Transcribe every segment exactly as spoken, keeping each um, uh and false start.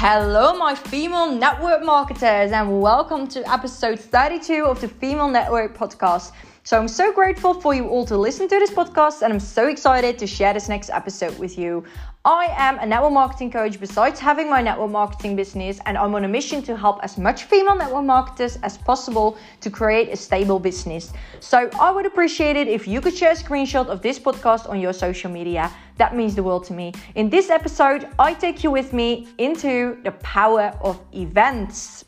Hello, my female network marketers, and welcome to episode thirty-two of the Female Network Podcast. So I'm so grateful for you all to listen to this podcast, and I'm so excited to share this next episode with you. I am a network marketing coach besides having my network marketing business, and I'm on a mission to help as much female network marketers as possible to create a stable business. So I would appreciate it if you could share a screenshot of this podcast on your social media. That means the world to me. In this episode, I take you with me into the power of events.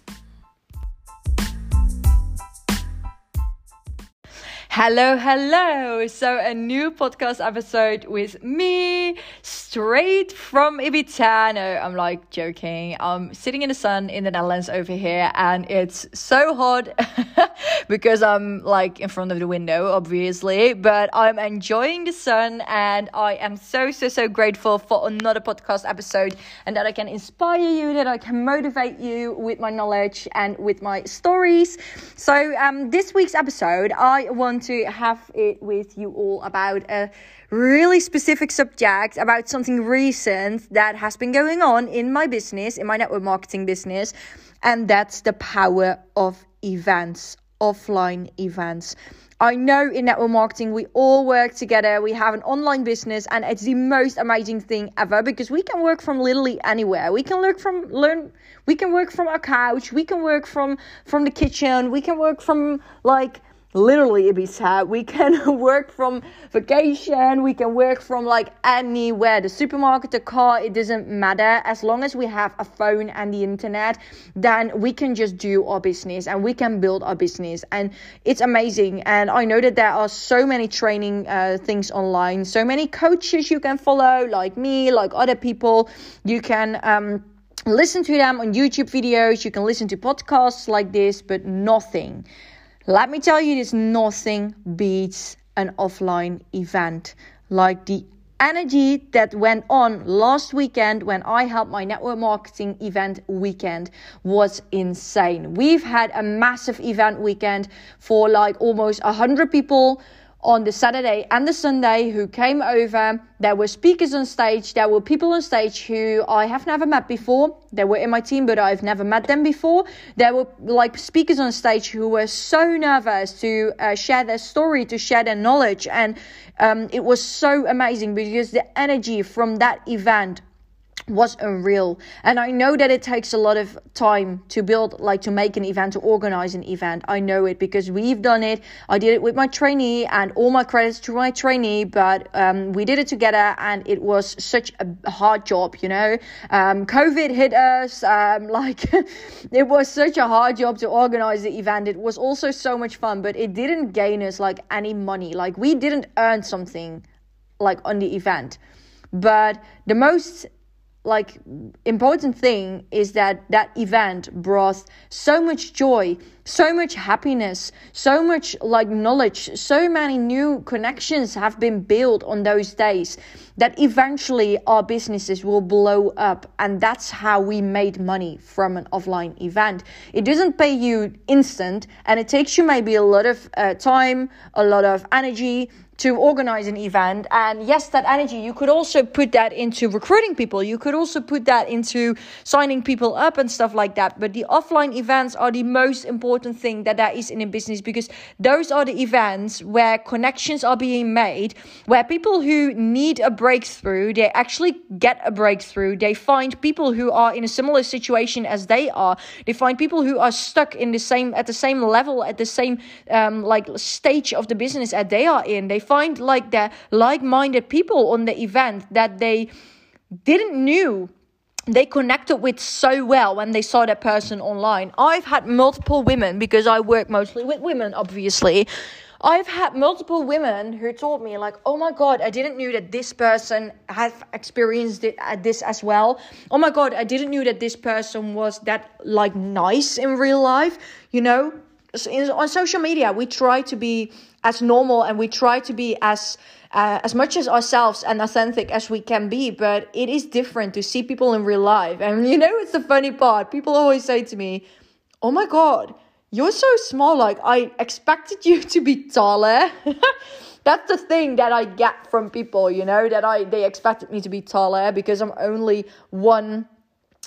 Hello, hello. So a new podcast episode with me straight from Ibiza. No, I'm like joking. I'm sitting in the sun in the Netherlands over here, and it's so hot because I'm like in front of the window, obviously, but I'm enjoying the sun, and I am so, so, so grateful for another podcast episode, and that I can inspire you, that I can motivate you with my knowledge and with my stories. So um, this week's episode, I want to have it with you all about a really specific subject, about something recent that has been going on in my business, in my network marketing business, and that's the power of events, offline events. I know in network marketing, we all work together. We have an online business, and it's the most amazing thing ever because we can work from literally anywhere. We can work from learn. We can work from our couch. We can work from from the kitchen. We can work from like literally Ibiza. We can work from vacation. We can work from like anywhere. The supermarket, the car, it doesn't matter. As long as we have a phone and the internet, then we can just do our business and we can build our business. And it's amazing. And I know that there are so many training uh, things online, so many coaches you can follow, like me, like other people. You can um, listen to them on YouTube videos. You can listen to podcasts like this, but nothing. Let me tell you this, nothing beats an offline event. Like the energy that went on last weekend when I held my network marketing event weekend was insane. We've had a massive event weekend for like almost one hundred people on the Saturday and the Sunday who came over. There were speakers on stage. There were people on stage who I have never met before. They were in my team, but I've never met them before. There were like speakers on stage who were so nervous to uh, share their story, to share their knowledge. And um, it was so amazing because the energy from that event was unreal. And I know that it takes a lot of time to build, like to make an event, to organize an event. I know it because we've done it. I did it with my trainee, and all my credits to my trainee, but um, we did it together, and it was such a hard job, you know. Um, COVID hit us, um, like it was such a hard job to organize the event. It was also so much fun, but it didn't gain us like any money. Like we didn't earn something like on the event. But the most like important thing is that that event brought so much joy, so much happiness, so much like knowledge, so many new connections have been built on those days that eventually our businesses will blow up. And that's how we made money from an offline event. It doesn't pay you instant, and it takes you maybe a lot of uh, time, a lot of energy to organize an event. And yes, that energy, you could also put that into recruiting people. You could also put that into signing people up and stuff like that. But the offline events are the most important thing that there is in a business, because those are the events where connections are being made, where people who need a breakthrough, they actually get a breakthrough. They find people who are in a similar situation as they are. They find people who are stuck in the same, at the same level, at the same um, like stage of the business that they are in. They find like the like-minded people on the event that they didn't knew they connected with so well when they saw that person online. I've had multiple women, because I work mostly with women, obviously. I've had multiple women who told me like, oh my God, I didn't know that this person had experienced it, uh, this as well. Oh my God, I didn't know that this person was that like nice in real life, you know. So in, on social media, we try to be as normal, and we try to be as uh, as much as ourselves and authentic as we can be. But it is different to see people in real life. And you know, it's the funny part. People always say to me, oh my God, you're so small. Like, I expected you to be taller. That's the thing that I get from people, you know, that I they expected me to be taller because I'm only one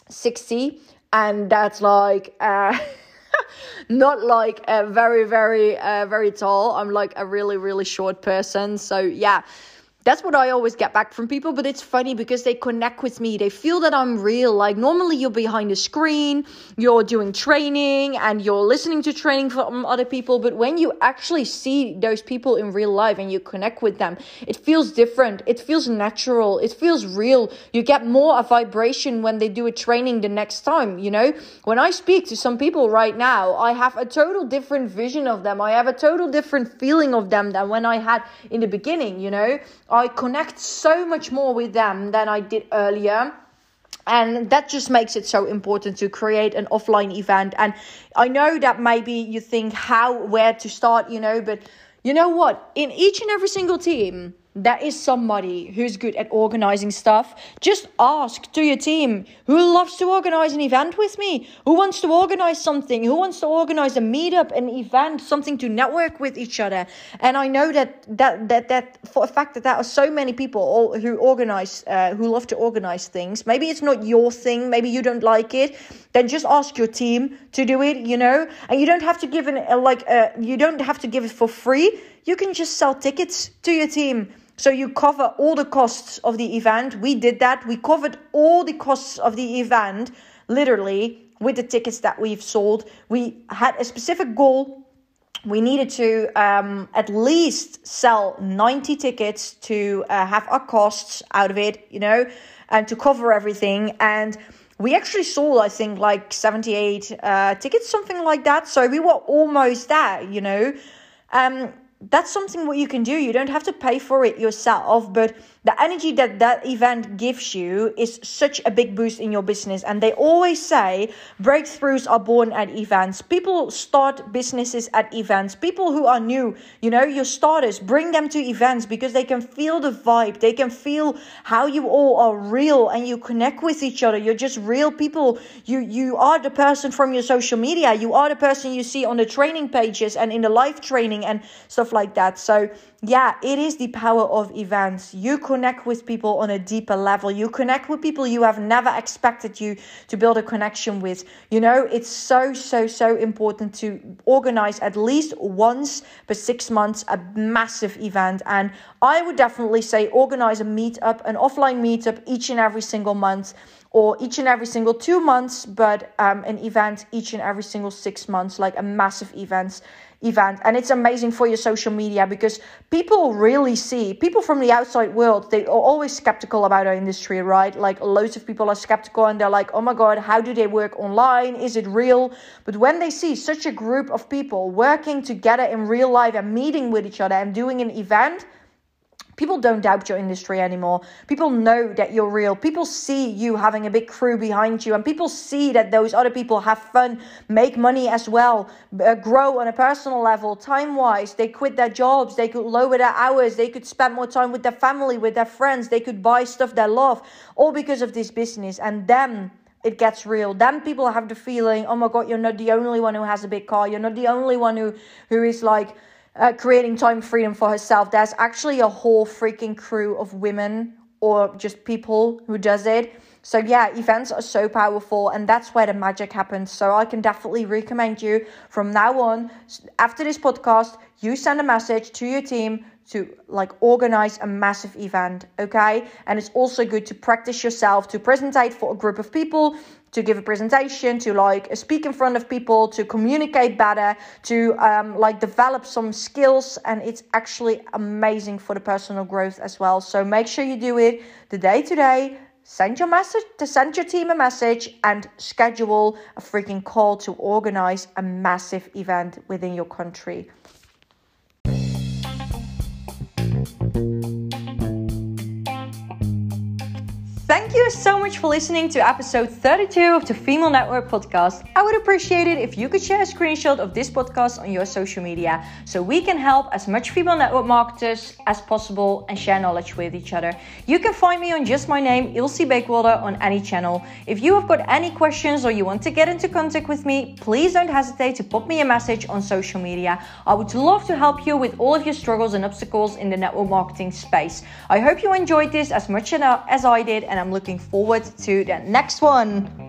sixty, and that's like uh not like a very very uh, very tall. I'm like a really really short person. So yeah, that's what I always get back from people. But it's funny because they connect with me. They feel that I'm real. Like normally you're behind the screen, you're doing training and you're listening to training from other people. But when you actually see those people in real life and you connect with them, it feels different. It feels natural. It feels real. You get more a vibration when they do a training the next time, you know. When I speak to some people right now, I have a total different vision of them. I have a total different feeling of them than when I had in the beginning, you know. I connect so much more with them than I did earlier. And that just makes it so important to create an offline event. And I know that maybe you think how, where to start, you know, but you know what? In each and every single team, there is somebody who's good at organizing stuff. Just ask to your team, who loves to organize an event with me? Who wants to organize something? Who wants to organize a meetup, an event, something to network with each other? And I know that that that that for a fact that there are so many people who organize, uh, who love to organize things. Maybe it's not your thing. Maybe you don't like it. Then just ask your team to do it, you know. And you don't have to give an uh, like uh, you don't have to give it for free. You can just sell tickets to your team. So you cover all the costs of the event. We did that. We covered all the costs of the event, literally, with the tickets that we've sold. We had a specific goal. We needed to um, at least sell ninety tickets to uh, have our costs out of it, you know, and to cover everything. And we actually sold, I think, like seventy-eight uh, tickets, something like that. So we were almost there, you know. Um, That's something what you can do. You don't have to pay for it yourself, but the energy that that event gives you is such a big boost in your business. And they always say breakthroughs are born at events. People start businesses at events. People who are new, you know, your starters, bring them to events because they can feel the vibe. They can feel how you all are real and you connect with each other. You're just real people. You, you are the person from your social media. You are the person you see on the training pages and in the live training and stuff like that. So yeah, it is the power of events. You connect with people on a deeper level. You connect with people you have never expected you to build a connection with. You know, it's so, so, so important to organize at least once per six months a massive event. And I would definitely say organize a meetup, an offline meetup each and every single month, or each and every single two months, but um, an event each and every single six months, like a massive events. event. And it's amazing for your social media because people really see, people from the outside world, they are always skeptical about our industry, right? Like loads of people are skeptical and they're like, oh my God, how do they work online? Is it real? But when they see such a group of people working together in real life and meeting with each other and doing an event, people don't doubt your industry anymore. People know that you're real. People see you having a big crew behind you, and people see that those other people have fun, make money as well, uh, grow on a personal level, time-wise. They quit their jobs. They could lower their hours. They could spend more time with their family, with their friends. They could buy stuff they love, all because of this business. And then it gets real. Then people have the feeling, oh my God, you're not the only one who has a big car. You're not the only one who, who is like, Uh, creating time freedom for herself. There's actually a whole freaking crew of women or just people who does it. So yeah, events are so powerful, and that's where the magic happens. So I can definitely recommend you from now on, after this podcast, you send a message to your team to like organize a massive event, okay? And it's also good to practice yourself, to presentate for a group of people, to give a presentation, to like speak in front of people, to communicate better, to um, like develop some skills. And it's actually amazing for the personal growth as well. So make sure you do it the day to day. Send your message to send your team a message and schedule a freaking call to organize a massive event within your country. Thank you so much for listening to episode thirty-two of the Female Network Podcast. I would appreciate it if you could share a screenshot of this podcast on your social media so we can help as much female network marketers as possible and share knowledge with each other. You can find me on just my name, Ilse Beekwolder, on any channel. If you have got any questions or you want to get into contact with me, please don't hesitate to pop me a message on social media. I would love to help you with all of your struggles and obstacles in the network marketing space. I hope you enjoyed this as much as I did, and I'm looking forward to the next one.